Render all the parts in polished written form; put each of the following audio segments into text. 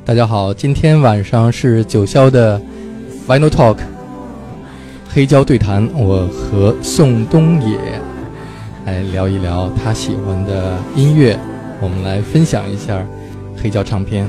大家好，今天晚上是九霄的 Vinyl Talk 黑胶对谈，我和宋冬野来聊一聊他喜欢的音乐，我们来分享一下黑胶唱片。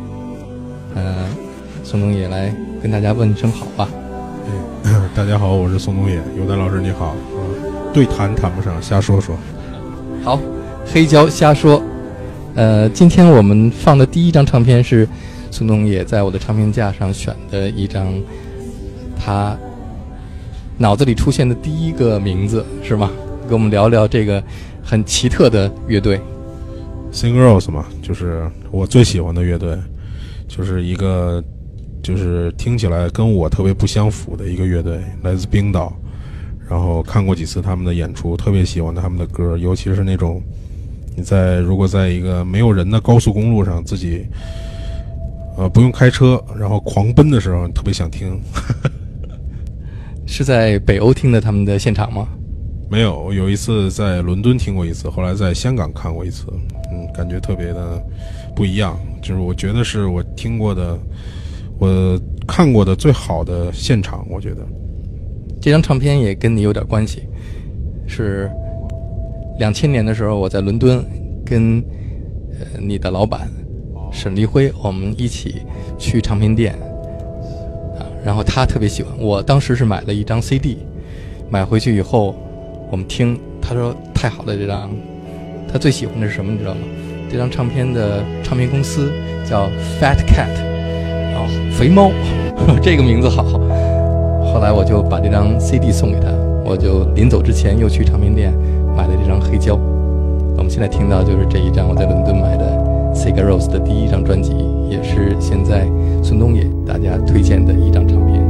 宋冬野来跟大家问声好吧。 大家好，我是宋冬野。有丹老师你好。对谈谈不上，瞎说说。 好，黑胶瞎说。今天我们放的第一张唱片是宋冬野在我的唱片架上选的一张，他脑子里出现的第一个名字是吗？跟我们聊聊这个很奇特的乐队。 Sigur Rós 嘛，就是我最喜欢的乐队，就是一个就是听起来跟我特别不相符的一个乐队，来自冰岛。然后看过几次他们的演出，特别喜欢他们的歌，尤其是那种你如果在一个没有人的高速公路上，自己不用开车，然后狂奔的时候，特别想听。 是在北欧听的他们的现场吗？ 没有，有一次在伦敦听过一次，后来在香港看过一次，感觉特别的不一样，就是我觉得是我听过的，我看过的最好的现场，我觉得。 这张唱片也跟你有点关系，是2000年的时候，我在伦敦跟你的老板沈立辉，我们一起去唱片店然后他特别喜欢，我当时是买了一张 CD， 买回去以后我们听，他说太好了，这张他最喜欢的是什么你知道吗？这张唱片的唱片公司叫 Fat Cat， 肥猫这个名字好。后来我就把这张 CD 送给他，我就临走之前又去唱片店买了这张黑胶。我们现在听到就是这一张我在伦敦买的 Sigur Rós 的第一张专辑，也是现在孙冬野大家推荐的一张唱片。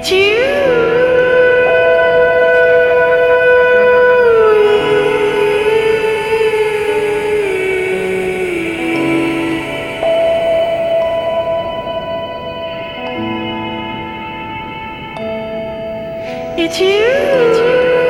It's you.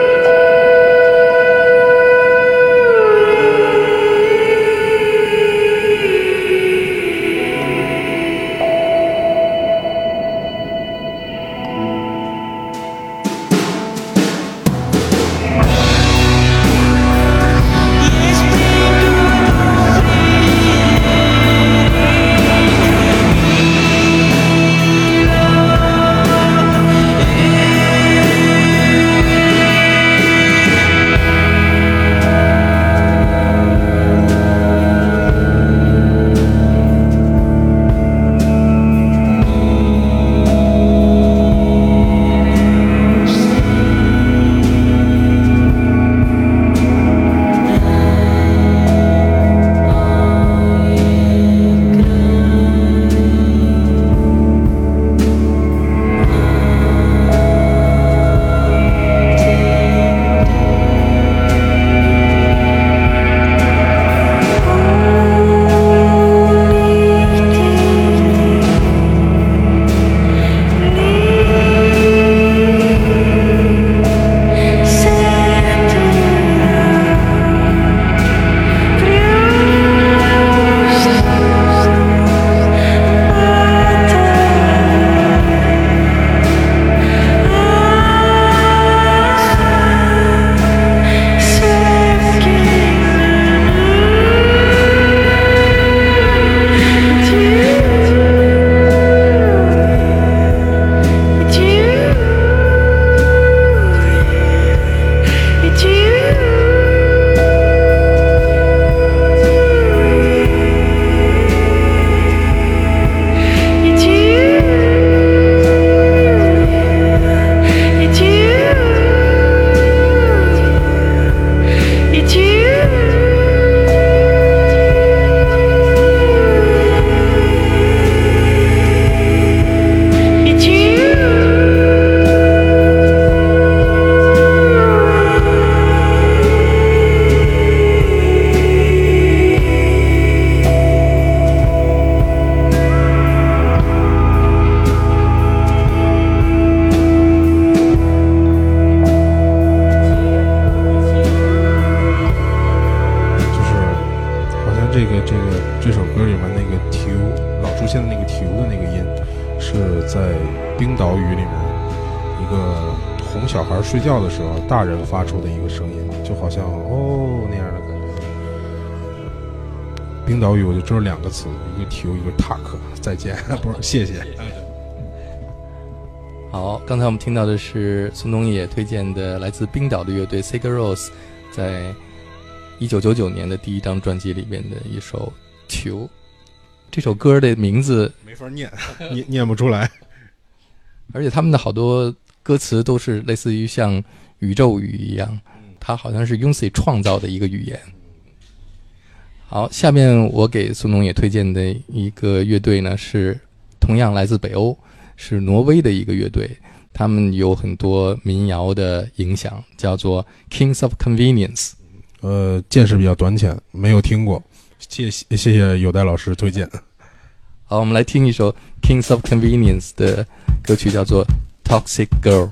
这首歌里面那个tiw老出现的那个tiw的那个音，是在冰岛语里面一个哄小孩睡觉的时候大人发出的一个声音，就好像哦那样的感觉。冰岛语我就知道两个词，一个tiw一个tak，再见不是谢谢。 好，刚才我们听到的是孙东野推荐的来自冰岛的乐队 Sigur Rós 在1999年的第一张专辑里边的一首tiw。这首歌的名字没法念不出来， 而且他们的好多歌词都是类似于像宇宙语一样，它好像是 Yonsei 创造的一个语言。好，下面我给孙东野推荐的一个乐队呢，是同样来自北欧，是挪威的一个乐队，他们有很多民谣的影响，叫做 Kings of Convenience。 见识比较短浅，没有听过，谢谢有代老师推荐。 好，我们来听一首 Kings of Convenience 的歌曲，叫做 Toxic Girl。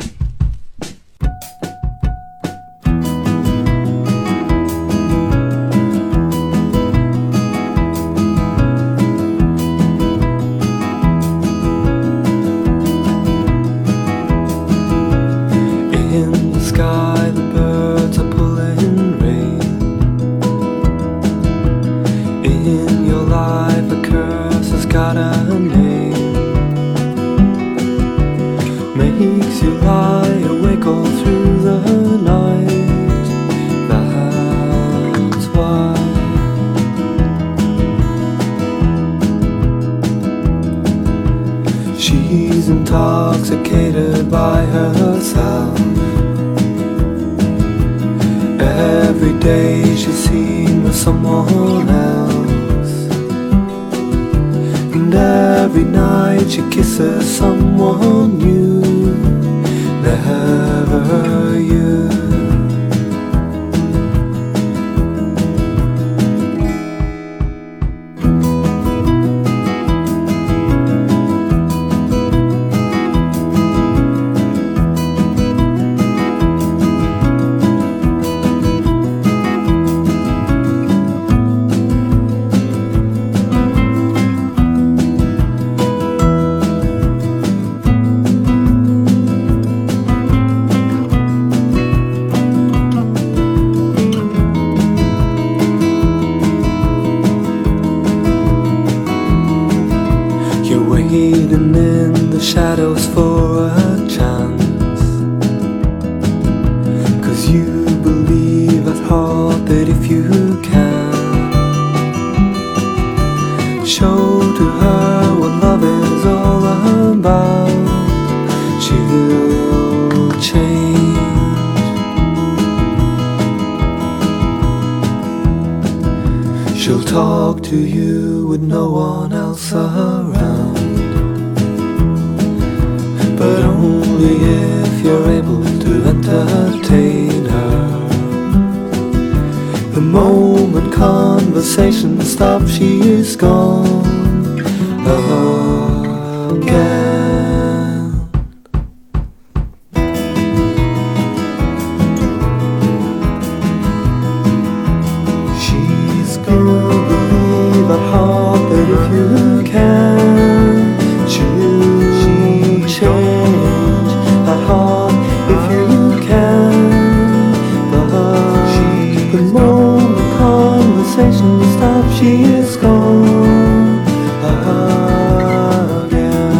She's intoxicated by herself. Every day she's seen with someone else, and every night she kisses someone new. Forever you. You're waiting in the shadows for a chance, 'cause you believe at heart that if you can show to her what love is all about, she'll change. She'll talk to you with no one else around, but only if you're able to entertain her. The moment conversation stops, she is gone again. She's gonna believe at heart that if you can, she'll change at heart if you can. But the moment conversation stops, she is gone again.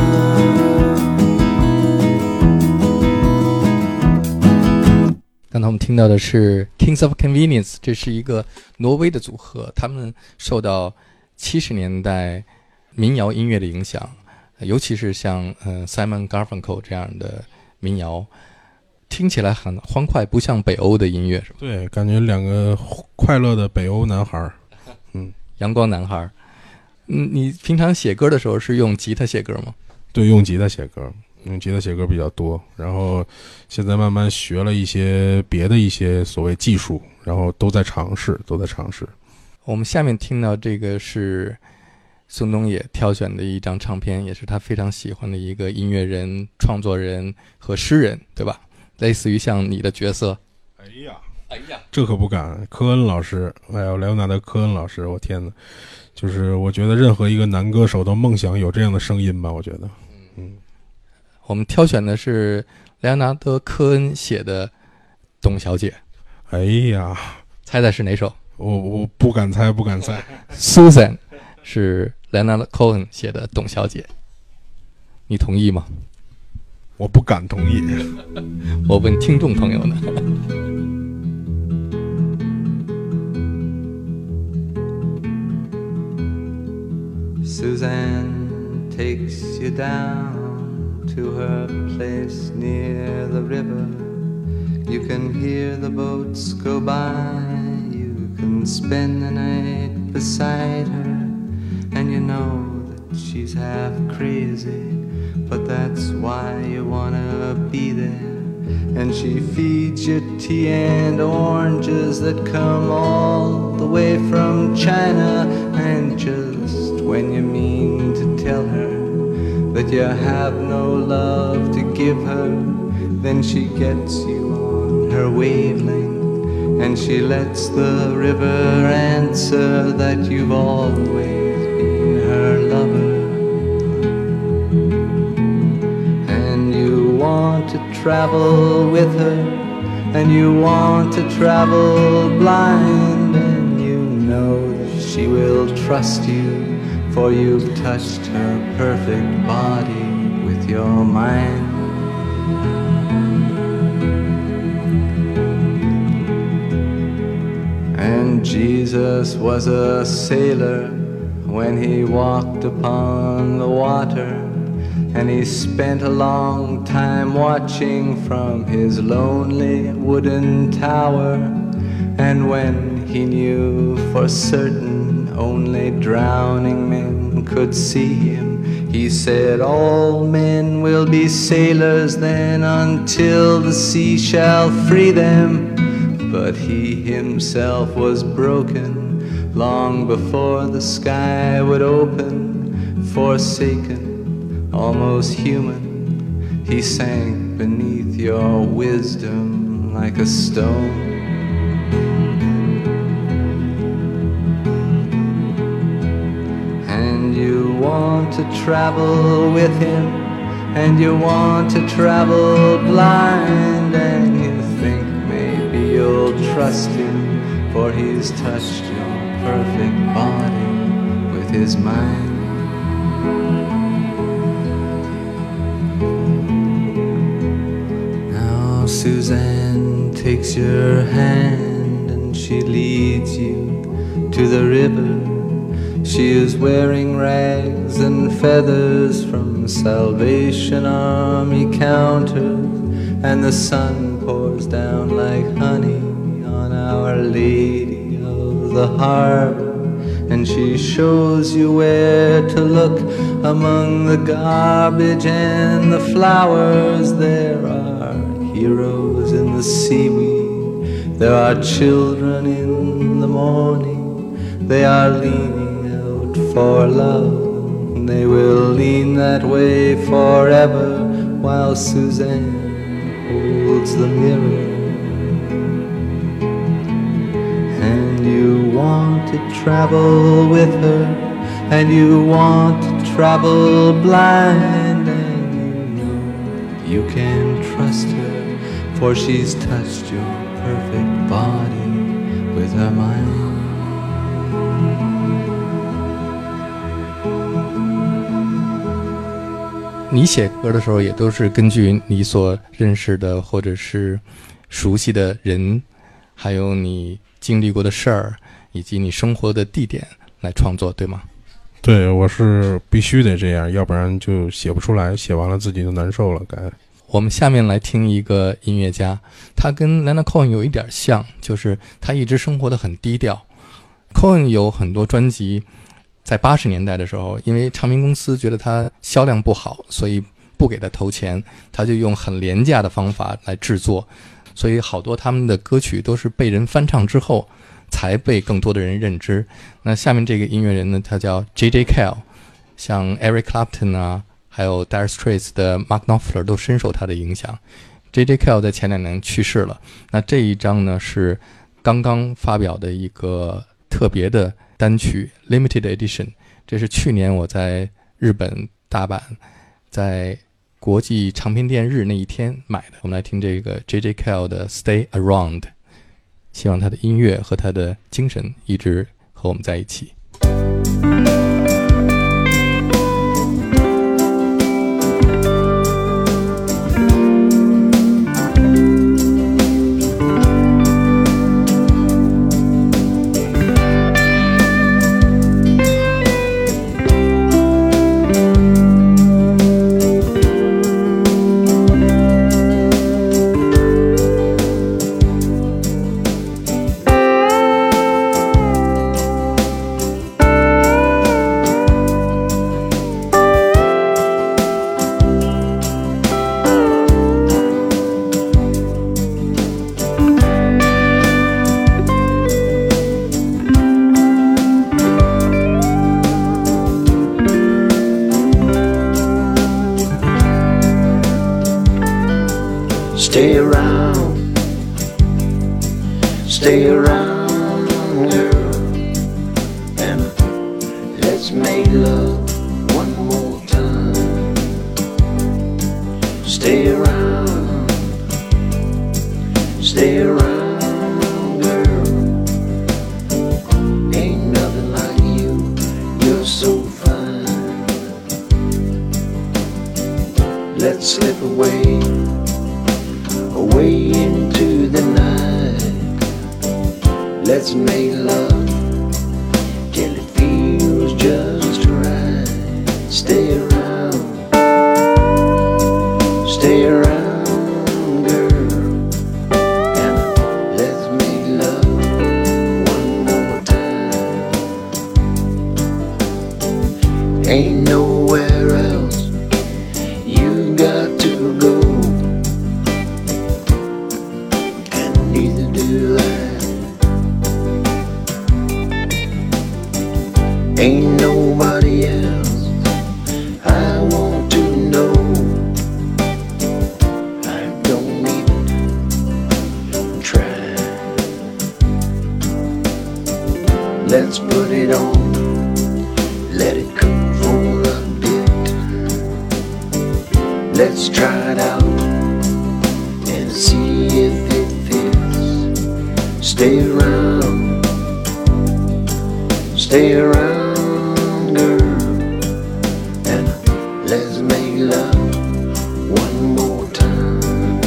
刚才我们听到的是 Kings of Convenience， 这是一个挪威的组合，他们受到70年代民谣音乐的影响，尤其是像Simon Garfunkel 这样的民谣，听起来很欢快，不像北欧的音乐，是吧？ 对，感觉两个快乐的北欧男孩。 阳光男孩。你平常写歌的时候是用吉他写歌吗？ 对，用吉他写歌，用吉他写歌比较多，然后现在慢慢学了一些别的一些所谓技术，然后都在尝试。 我们下面听到这个是宋冬野挑选的一张唱片，也是他非常喜欢的一个音乐人、创作人和诗人，对吧？类似于像你的角色。 哎呀，这可不敢。科恩老师，莱昂纳德·科恩老师，我天哪！就是我觉得任何一个男歌手都梦想有这样的声音吧，我觉得。 我们挑选的是莱昂纳德·科恩写的《董小姐》。 哎呀， 猜猜是哪首？ 我不敢猜。 Susan 是莱昂纳德·科恩写的《董小姐》，你同意吗？ 我不敢同意。 我问听众朋友呢。 Suzanne takes you down to her place near the river. You can hear the boats go by. You can spend the night beside her. And you know that she's half crazy, but that's why you wanna be there. And she feeds you tea and oranges that come all the way from China. And just when you mean to tell her that you have no love to give her, then she gets you on her wavelength, and she lets the river answer that you've always been her lover. And you want to travel with her, and you want to travel blind, and you know that she will trust you, for you've touched her perfect body with your mind. And Jesus was a sailor when he walked upon the water, and he spent a long time watching from his lonely wooden tower. And when he knew for certain only drowning men one could see him. He said, all men will be sailors then until the sea shall free them. But he himself was broken long before the sky would open. Forsaken, almost human, he sank beneath your wisdom like a stone. And you want to travel with him, and you want to travel blind, and you think maybe you'll trust him, for he's touched your perfect body with his mind. Now Suzanne takes your hand and she leads you to the river. She is wearing rags and feathers from Salvation Army counters, and the sun pours down like honey on Our Lady of the Harbor. And she shows you where to look among the garbage and the flowers. There are heroes in the seaweed, there are children in the morning. They are leaning out for love, they will lean that way forever, while Suzanne holds the mirror. And you want to travel with her, and you want to travel blind, and you know you can trust her, for she's touched your perfect body with her mind. 你写歌的时候也都是根据你所认识的或者是熟悉的人，还有你经历过的事儿，以及你生活的地点来创作，对吗？ 对，我是必须得这样，要不然就写不出来，写完了自己就难受了。 我们下面来听一个音乐家，他跟 Leonard Cohen 有一点像，就是他一直生活得很低调。Cohen 有很多专辑在80年代的时候，因为唱片公司觉得他销量不好，所以不给他投钱，他就用很廉价的方法来制作，所以好多他们的歌曲都是被人翻唱之后才被更多的人认知。那下面这个音乐人呢，他叫 J.J. Cale， 像 Eric Clapton 啊，还有 Dire Straits 的 Mark Knopfler 都深受他的影响。J.J. Cale 在前2年去世了，那这一张呢是刚刚发表的一个特别的单曲 Limited Edition， 这是去年我在日本大阪在国际唱片店日那一天买的。我们来听这个 J.J. Cale 的 Stay Around， 希望他的音乐和他的精神一直和我们在一起。 Stay around, stay around, girl, and let's make love one more time. Stay around, girl, ain't nothing like you, you're so fine. Let's slip away into the night. Let's make love till it feels just right. Stay around, girl, and let's make love one more time. Ain't nowhere else you got to go, and neither do I. Ain't nobody else I want to know. I don't even try. Let's put it on, let it cook for a bit. Let's try it out and see if it fits. Stay around, stay around, girl, and let's make love one more time.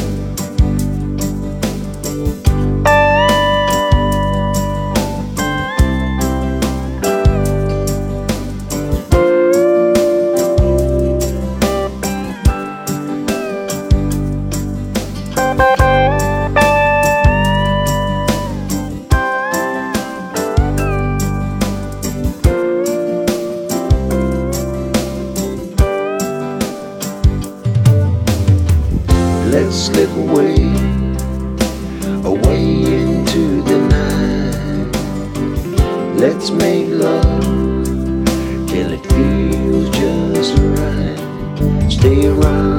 Let's slip away, away into the night. Let's make love till it feels just right. Stay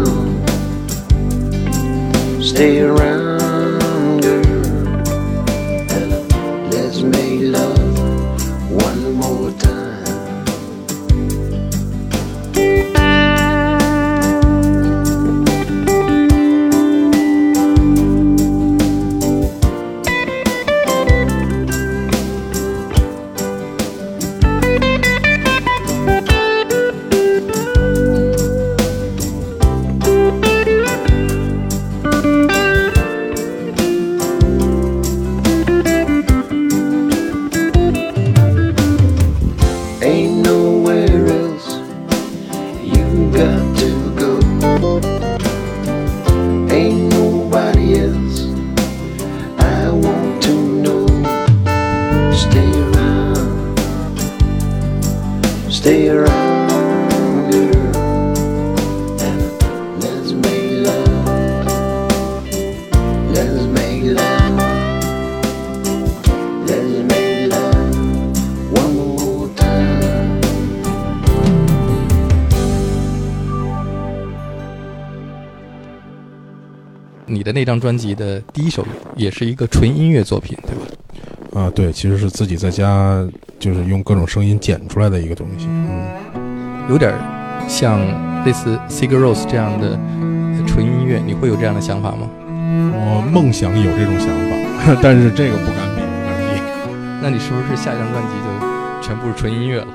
around, girl, and let's make love one more time. Ain't nowhere else you got to go. Ain't nobody else I want to know. Stay around, girl, and let's make love, let's make love, let's make love one more time. 你的那张专辑的第一首也是一个纯音乐作品，对吧？ 啊，对，其实是自己在家就是用各种声音剪出来的一个东西。 有点像类似 Sigur Rós 这样的纯音乐，你会有这样的想法吗？ 我梦想有这种想法，但是这个不敢比，不敢比。 那你是不是下一张专辑就全部是纯音乐了？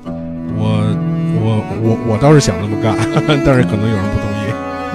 我倒是想这么干，但是可能有人不同意。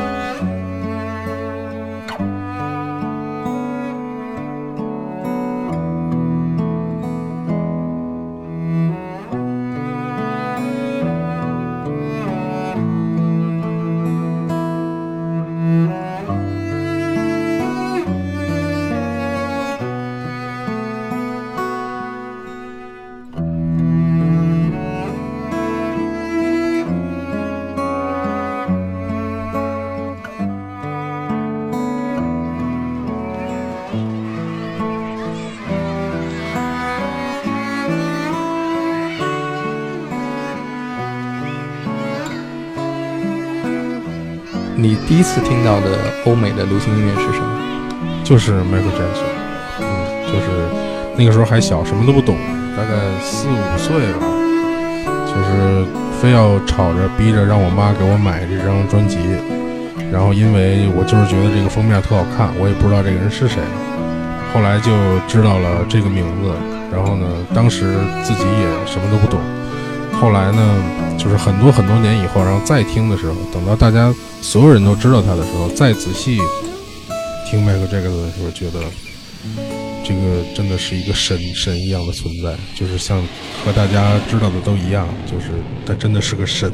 你第一次听到的欧美的流行音乐是什么？ 就是 Michael Jackson，就是那个时候还小，什么都不懂，大概4、5岁吧，就是非要吵着逼着让我妈给我买这张专辑，然后因为我就是觉得这个封面特好看，我也不知道这个人是谁，后来就知道了这个名字，然后呢，当时自己也什么都不懂，后来呢，就是很多年以后，然后再听的时候，等到大家所有人都知道他的时候，再仔细听迈克这个的时候，觉得这个真的是一个神一样的存在，就是像和大家知道的都一样，就是他真的是个神。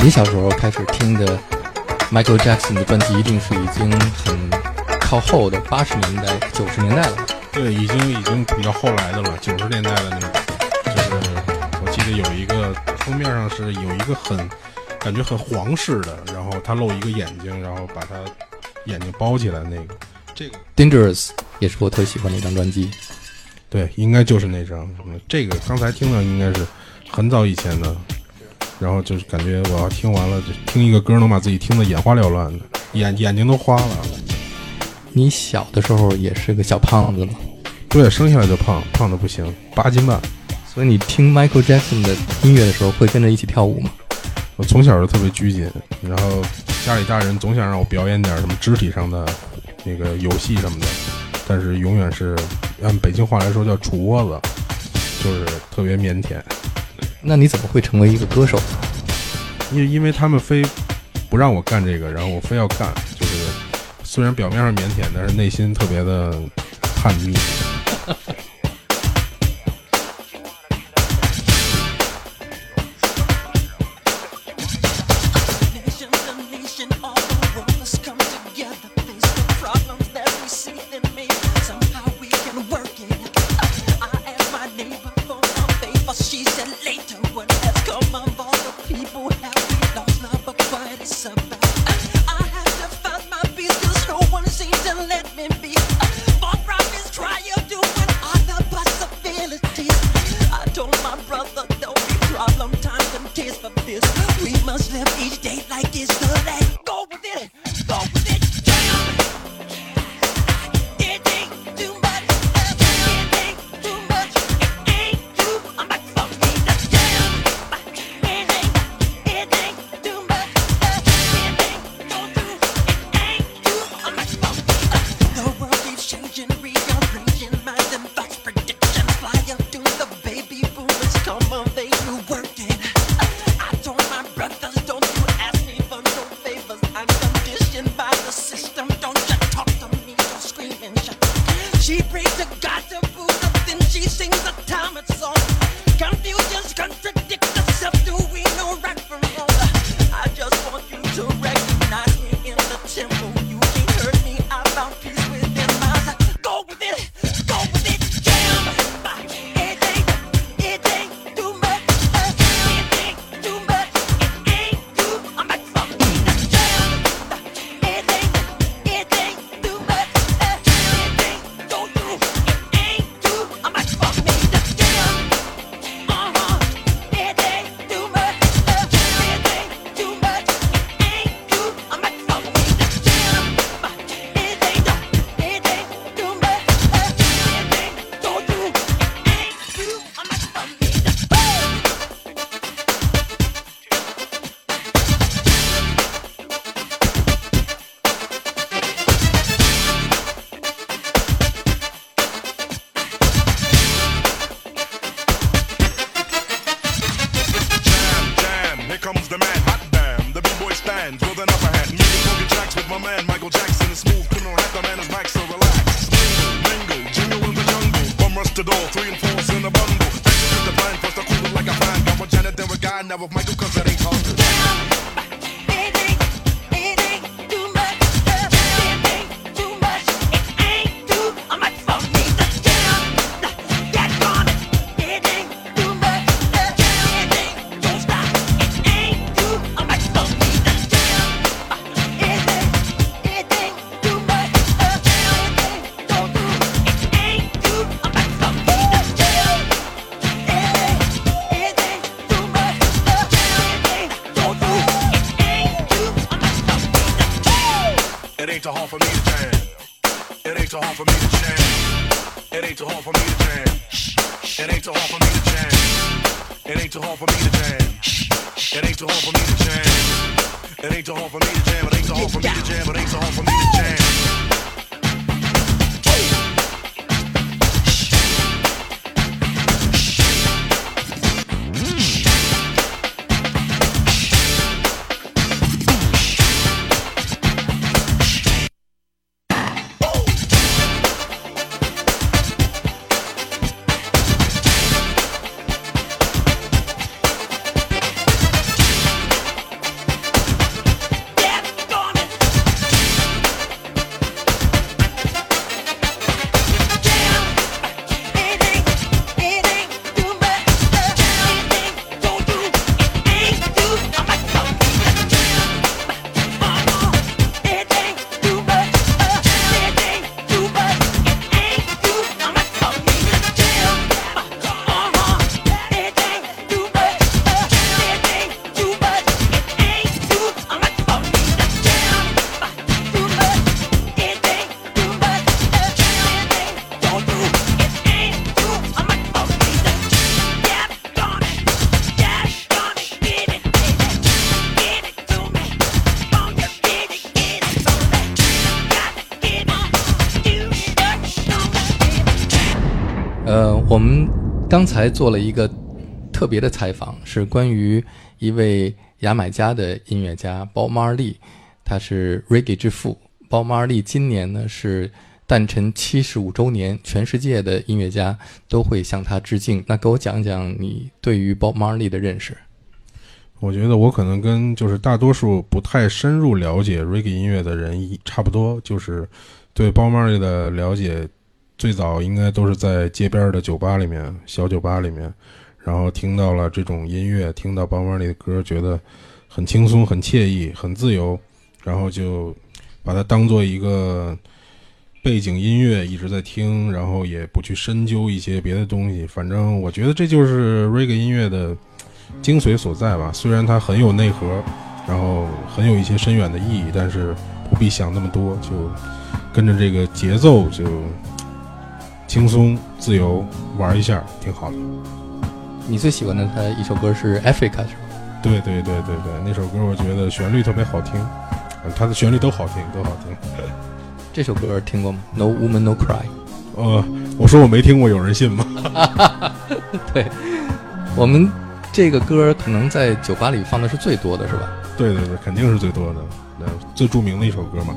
你小时候开始听的 Michael Jackson 的专辑，一定是已经很靠后的80年代、90年代了。 对，已经比较后来的了，90年代的那种。就是我记得有一个封面上是有一个感觉很皇室的，然后他露一个眼睛，然后把他眼睛包起来那个。这个 Dangerous 也是我特喜欢的一张专辑。 对，应该就是那张。这个刚才听的应该是很早以前的，然后就是感觉我要听完了，就听一个歌能把自己听得眼花缭乱的，眼睛都花了。 你小的时候也是个小胖子吗？ 对，生下来就胖的不行，8斤半。 所以你听 Michael Jackson 的音乐的时候，会跟着一起跳舞吗？ 我从小就特别拘谨，然后家里大人总想让我表演点什么肢体上的那个游戏什么的，但是永远是按北京话来说叫杵窝子，就是特别腼腆。 那你怎么会成为一个歌手呢？ 因为他们非不让我干这个，然后我非要干，就是虽然表面上腼腆，但是内心特别的叛逆。 我们刚才做了一个特别的采访，是关于一位牙买加的音乐家Bob Marley，他是 Reggae 之父。Bob Marley今年呢是诞辰75周年，全世界的音乐家都会向他致敬。那给我讲讲你对于 Bob Marley 的认识。 我觉得我可能跟就是大多数不太深入了解 Reggae 音乐的人差不多，就是对 Bob Marley 的了解最早应该都是在街边的酒吧里面，小酒吧里面，然后听到了这种音乐，听到 Bob Marley 的歌，觉得很轻松、很惬意、很自由，然后就把它当做一个背景音乐一直在听，然后也不去深究一些别的东西。反正我觉得这就是 Reggae 音乐的精髓所在吧。虽然它很有内核，然后很有一些深远的意义，但是不必想那么多，就跟着这个节奏就轻松自由玩一下，挺好的。 你最喜欢的他一首歌是 Africa 是吧？ 对，那首歌我觉得旋律特别好听，他的旋律都好听，都好听。 这首歌听过吗？ No Woman No Cry。 我说我没听过，有人信吗？ 对，我们这个歌可能在酒吧里放的是最多的，是吧？ 对，肯定是最多的，最著名的一首歌嘛。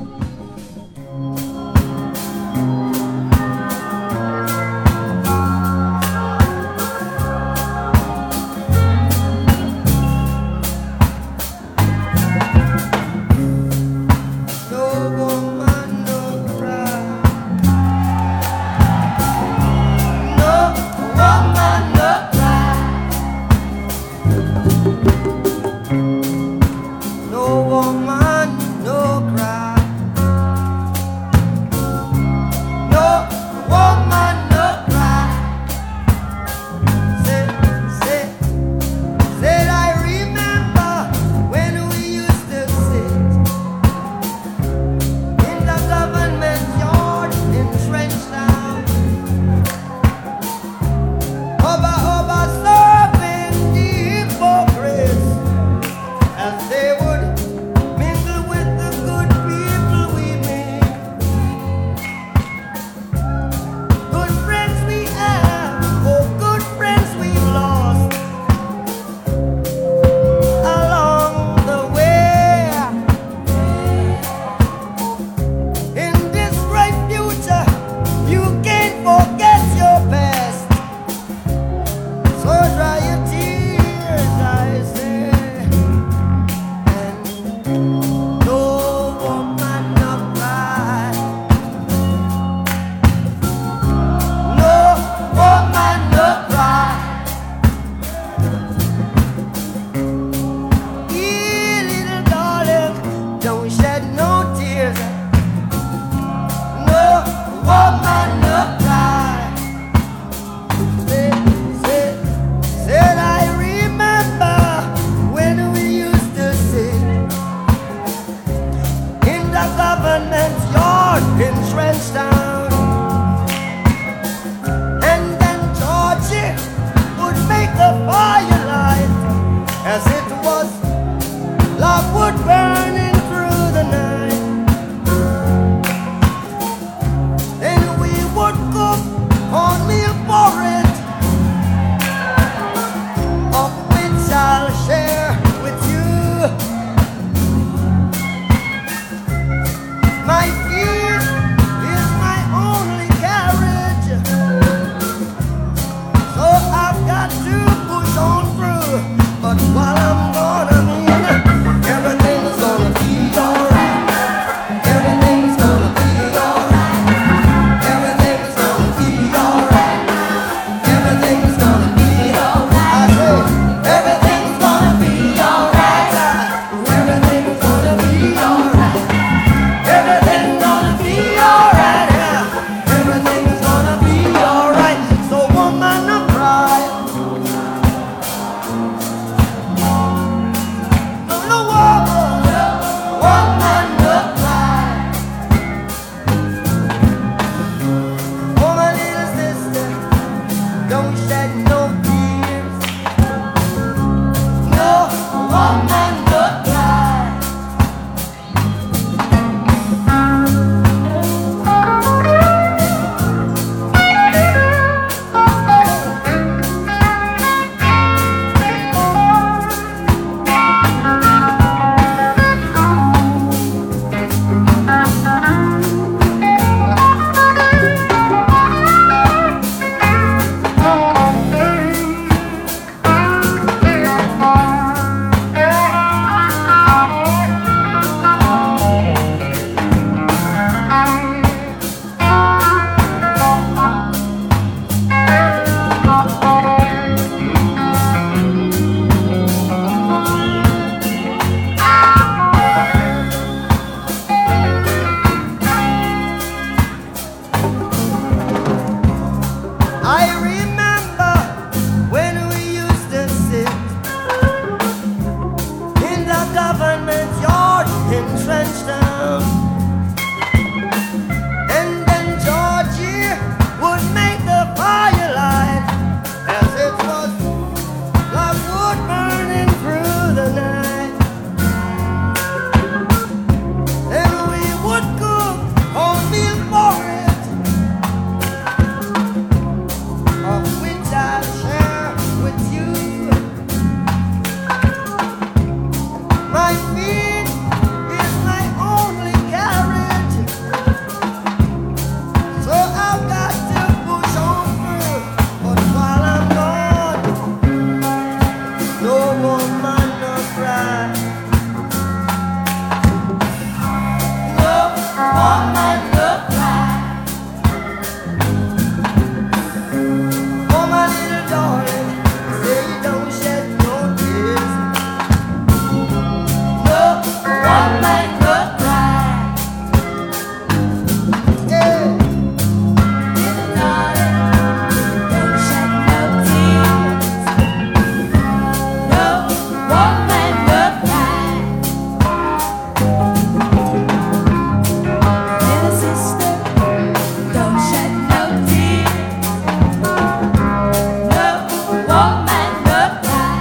in Trenchtown. And then Georgie would make the firelight as it was like wood burning through the night. And we would cook cornmeal porridge, of which I'll share with you. My feet is my only carriage, so I've got to push on through. But while I'm gone, no woman no cry. No woman no cry. Oh my little darling, say don't shed no tears. No woman no cry. Yeah. Little darling, don't shed no tears. No woman no cry. Little sister, don't shed no tears. No woman no cry.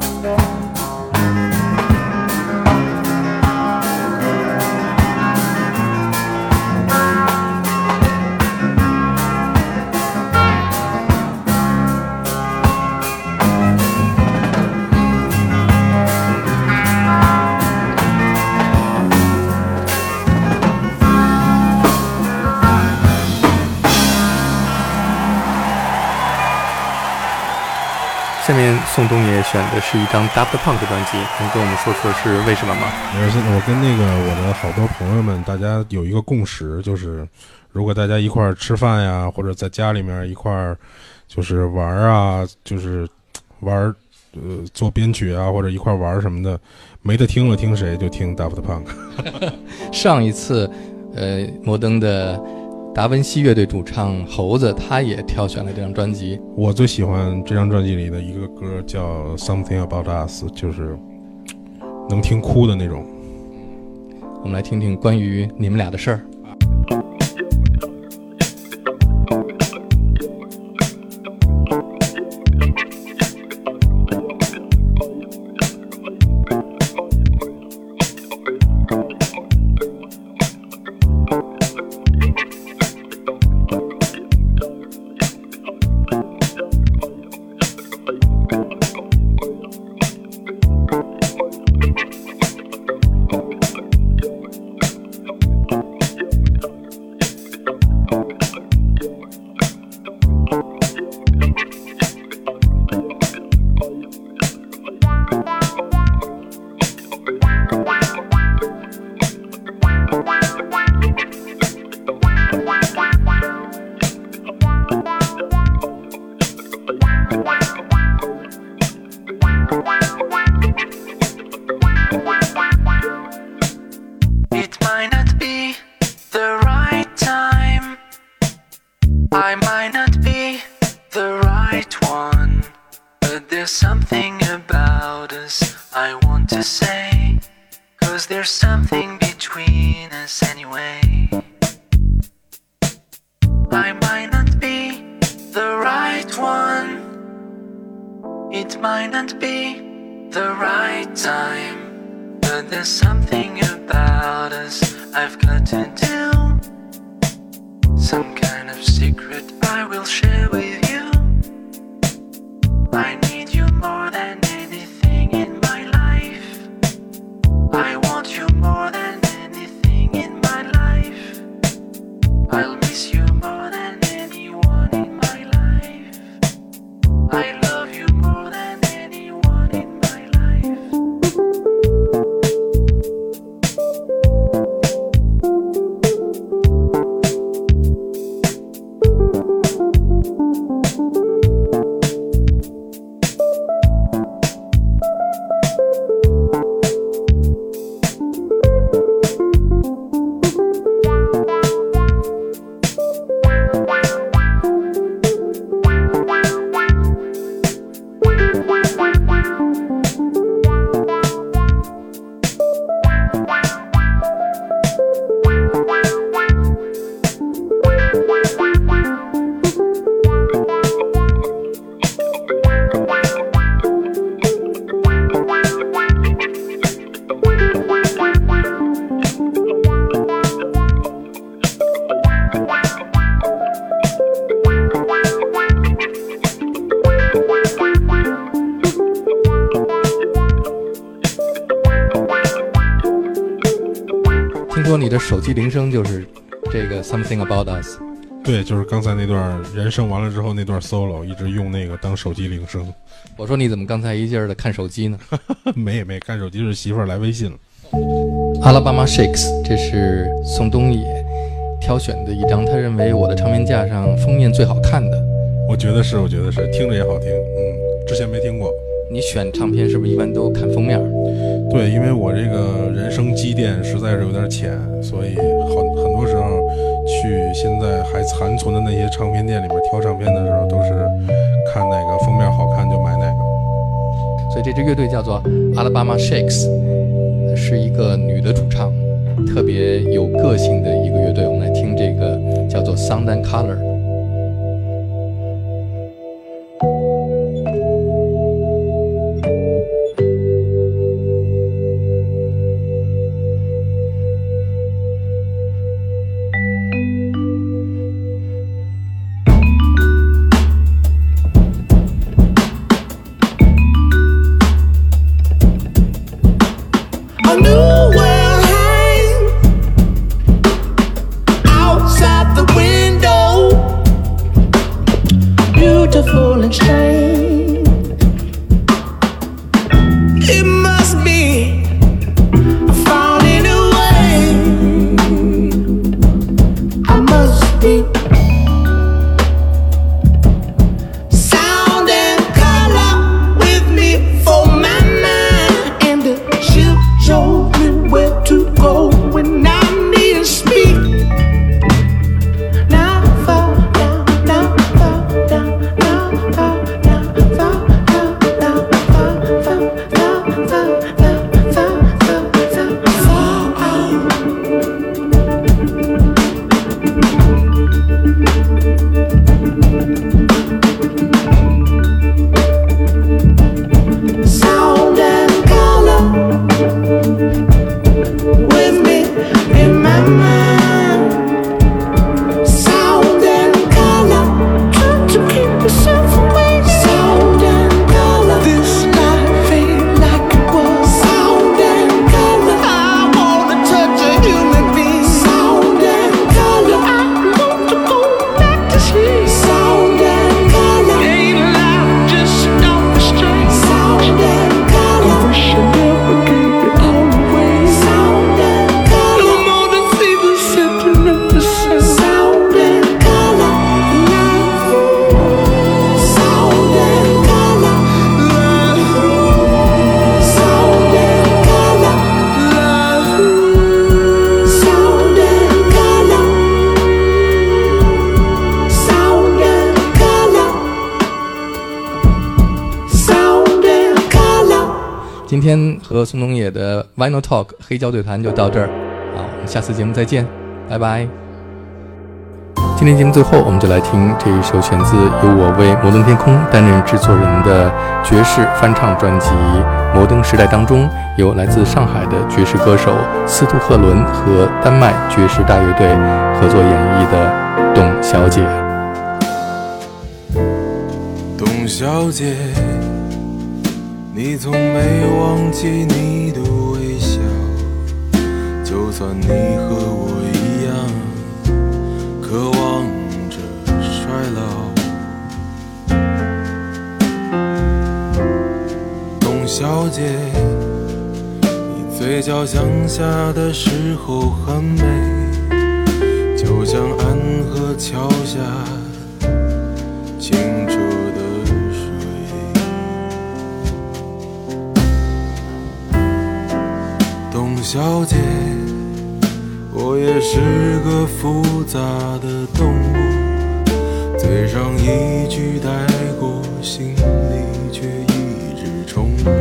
下面宋冬野选的是一张 Daft Punk 专辑，能跟我们说说是为什么吗？ 我跟那个我的好多朋友们，大家有一个共识，就是如果大家一块儿吃饭呀，或者在家里面一块儿就是玩啊，就是玩做编曲啊，或者一块儿玩什么的，没得听了听谁就听 Daft Punk。 上一次摩登的达文西乐队主唱猴子他也挑选了这张专辑。 我最喜欢这张专辑里的一个歌叫 Something About Us， 就是能听哭的那种。 我们来听听关于你们俩的事儿。 I might not be the right one, but there's something about us I want to say, 'cause there's something between us anyway. I might not be the right one, it might not be the right time, but there's something about us I've got to do, some kind of secret I will share with you. I need you more than anything in my life, I want you more than anything in my life, I'll miss you more than anyone in my life, I love you more than anyone in my life. 说你的手机铃声就是这个 Something About Us。 对，就是刚才那段人声完了之后那段 solo， 一直用那个当手机铃声。 我说你怎么刚才一劲儿的看手机呢？ 没看手机，是媳妇儿来微信了。 Alabama Shakes， 这是宋冬野挑选的一张他认为我的唱片架上封面最好看的。 我觉得是，听着也好听。之前没听过。 你选唱片是不是一般都看封面？ 对，因为我这个人生积淀实在是有点浅，所以很多时候去现在还残存的那些唱片店里面挑唱片的时候，都是看哪个封面好看就买哪个。 所以这支乐队叫做 Alabama Shakes， 是一个女的主唱，特别有个性的一个乐队。我们来听这个叫做 Sound and Color。今天和宋冬野的 Vinyl Talk 黑胶对谈就到这儿，好，我们下次节目再见，拜拜。今天节目最后，我们就来听这一首选自由我为摩登天空担任制作人的爵士翻唱专辑《摩登时代》当中，由来自上海的爵士歌手司徒赫伦和丹麦爵士大乐队合作演绎的《董小姐》。 董小姐，你从没忘记你的微笑，就算你和我一样渴望着衰老。董小姐，你嘴角向下的时候很美，就像安河桥下清澈的水。董小姐，我也是个复杂的动物，嘴上一句带过，心里却一直重复。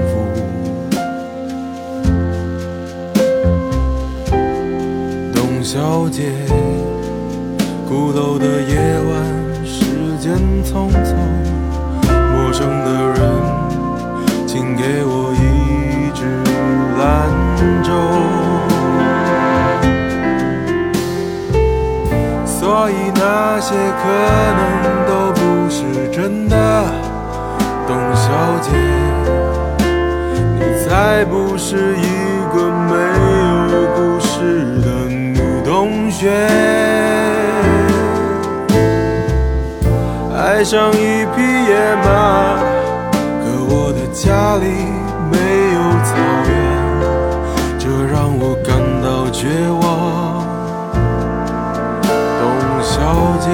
董小姐，鼓楼的夜晚，时间匆匆，陌生的人，请给我一支兰州。所以那些可能都不是真的，董小姐，你才不是一个没有故事的女雪，爱上一匹野马，可我的家里没有草原，这让我感到绝望。董小姐，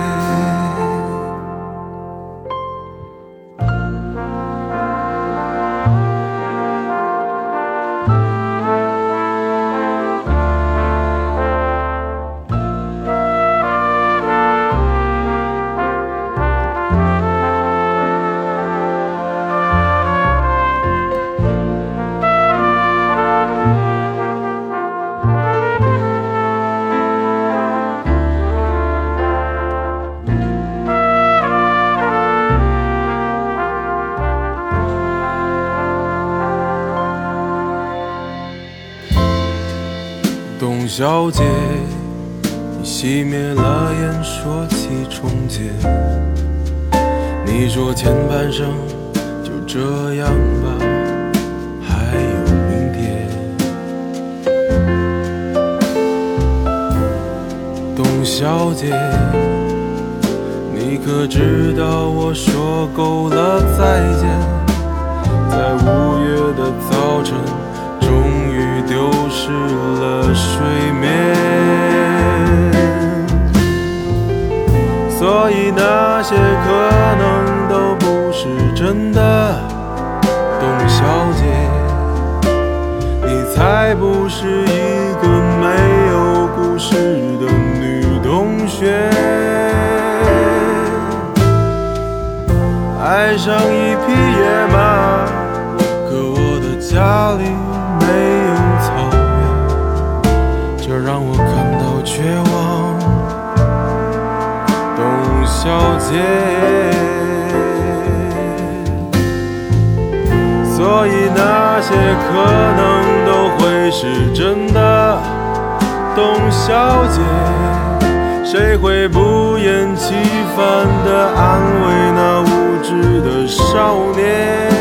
董小姐，你熄灭了烟，说起从前。你说前半生就这样吧，还有明天。董小姐，你可知道我说够了再见，在5月的早晨终于丢失了睡眠，所以那些可能都不是真的。董小姐，你才不是一个没有故事的女同学，爱上一匹野马，可我的家里没有草原，这让我感到绝望。董小姐，所以那些可能都会是真的。董小姐，谁会不厌其烦地安慰那无知的少年？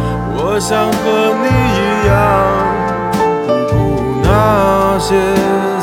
我想和你一样，不顾那些